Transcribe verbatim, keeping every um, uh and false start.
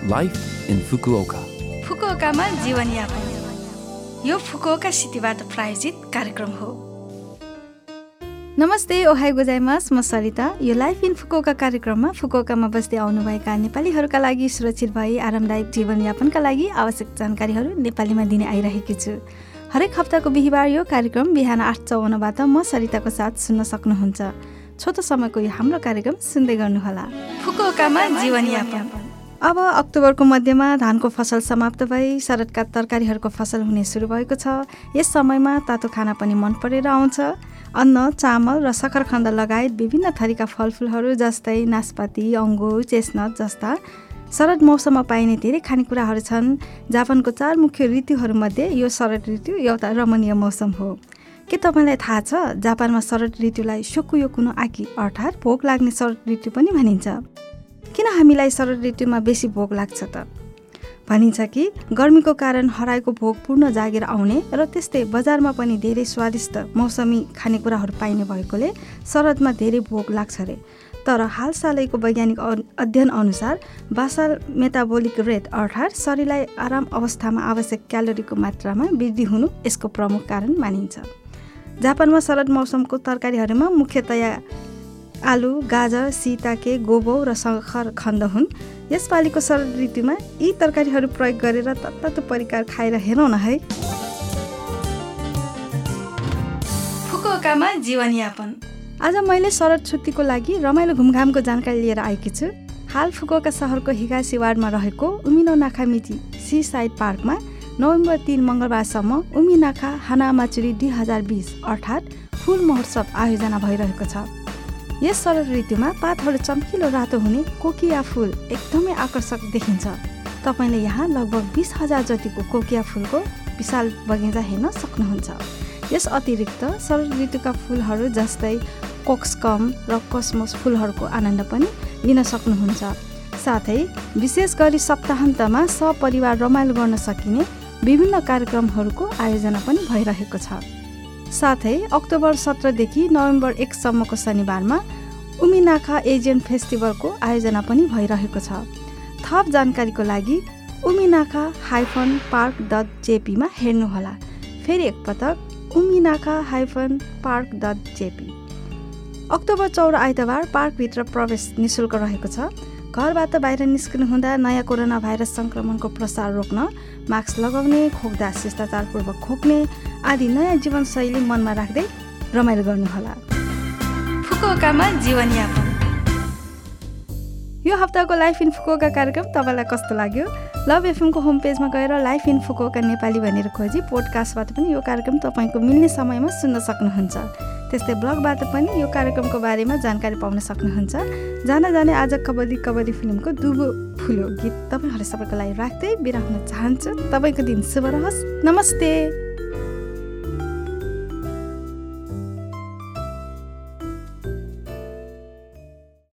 Life in Fukuoka. फुकुओकामा जीवनयापन यो Fukuoka सिटीबाट प्रायोजित कार्यक्रम हो। नमस्ते, ओहाई गोजाइमास, म सरिता। यो लाइफ इन फुकुओका कार्यक्रममा फुकुओकामा बस्दै आउनुभएका नेपालीहरूका लागि सुरक्षित भई आरामदायक जीवनयापनका लागि आवश्यक जानकारीहरू नेपालीमा दिने आइरहेकी छु। हरेक हप्ताको बिहिबार यो कार्यक्रम बिहान आठ चौवन्नबाट म सरिताको साथ सुन्न सक्नुहुन्छ। छोटो समयको यो हाम्रो कार्यक्रम सुन्दै गर्नुहोला। फुकुओकामा जीवनयापन। अब अक्टोबरको मध्यमा धानको फसल समाप्त भई शरदका तरकारीहरूको फसल हुने सुरु भएको छ। यस समयमा तातो खाना पनि मन परेर आउँछ। अन्न, चामल र सक्खरखण्ड लगायत विभिन्न थरीका फलफुलहरू जस्तै नास्पाती, अङ्गुर, चेस्नट जस्ता शरद मौसममा पाइने धेरै खानेकुराहरू छन्। जापानको चार मुख्य ऋतुहरूमध्ये यो शरद ऋतु एउटा रमणीय मौसम हो। के तपाईँलाई थाहा छ, जापानमा शरद ऋतुलाई सोकुयोकु नो आकी अर्थात् भोक लाग्ने शरद ऋतु पनि भनिन्छ। किन हामीलाई शरद ऋतुमा बेसी भोक लाग्छ त? भनिन्छ कि गर्मीको कारण हराएको भोक पूर्ण जागेर आउने र त्यस्तै बजारमा पनि धेरै स्वादिष्ट मौसमी खानेकुराहरू पाइने भएकोले शरदमा धेरै भोक लाग्छ रे। तर हालसालैको वैज्ञानिक अध्ययन अनुसार बासाल मेटाबोलिक रेट अर्थात् शरीरलाई आराम अवस्थामा आवश्यक क्यालोरीको मात्रामा वृद्धि हुनु यसको प्रमुख कारण मानिन्छ। जापानमा शरद मौसमको तरकारीहरूमा मुख्यतया आलु, गाजर, सिताके, गोबो र सक्खरखण्ड हुन्। यसपालिको शरद ऋतुमा यी तरकारीहरू प्रयोग गरेर तत्तातो परिकार खाएर हेरौँ न है। फुकुओकामा जीवनयापन। आज मैले शरद छुट्टीको लागि रमाइलो घुमघामको जानकारी लिएर आएकी छु। हाल फुकुओका सहरको हिगासी वार्डमा रहेको उमिनो नाखामिची सी साइड पार्कमा नोभेम्बर तीन मङ्गलबारसम्म उमिनाखा हानामाचुरी दुई हजार बिस अर्थात् फुल महोत्सव आयोजना भइरहेको छ। यस शरद ऋतुमा पातहरू चम्किलो रातो हुने कोकिया फुल एकदमै आकर्षक देखिन्छ। तपाईँले यहाँ लगभग बिस हजार जतिको कोकिया फुलको विशाल बगैँचा हेर्न सक्नुहुन्छ। यस अतिरिक्त शरद ऋतुका फुलहरू जस्तै कोक्सकम र कसमस फुलहरूको आनन्द पनि लिन सक्नुहुन्छ। साथै विशेष गरी सप्ताहन्तमा सपरिवार रमाइलो गर्न सकिने विभिन्न कार्यक्रमहरूको आयोजना पनि भइरहेको छ। साथै अक्टोबर सत्रदेखि नोभेम्बर एकसम्मको शनिबारमा उमिनाखा एजियन फेस्टिभलको आयोजना पनि भइरहेको छ। थप जानकारीको लागि उमिनाखा हाइफन पार्क डट जेपीमा हेर्नुहोला। फेरि एकपटक उमिनाखा hyphen park dot JP. October चौध आइतबार पार्कभित्र प्रवेश निःशुल्क रहेको छ। घरबाट बाहिर निस्कनु हुँदा नयाँ कोरोना भाइरस सङ्क्रमणको प्रसार रोक्न मास्क लगाउने, खोक्दा शिष्टाचारपूर्वक खोक्ने आदि नयाँ जीवनशैली मनमा राख्दै रमाइलो गर्नुहोला। फुकुओकामा जीवनयापन। यो हप्ताको लाइफ इन फुकुओका कार्यक्रम तपाईँलाई कस्तो लाग्यो? लभ एफएमको होम पेजमा गएर लाइफ इन फुकुओका नेपाली भनेर खोजी पोडकास्टबाट पनि यो कार्यक्रम तपाईँको मिल्ने समयमा सुन्न सक्नुहुन्छ। त्यस्तै ब्लगबाट पनि यो कार्यक्रमको बारेमा जानकारी पाउन सक्नुहुन्छ। जान जाने आज कबड्डी कबड्डी फिल्मको दुबो फुल्यो गीत तपाईँहरू सबैको लागि राख्दै बिदा हुन चाहन्छु। तपाईँको दिन शुभ रहोस्। नमस्ते।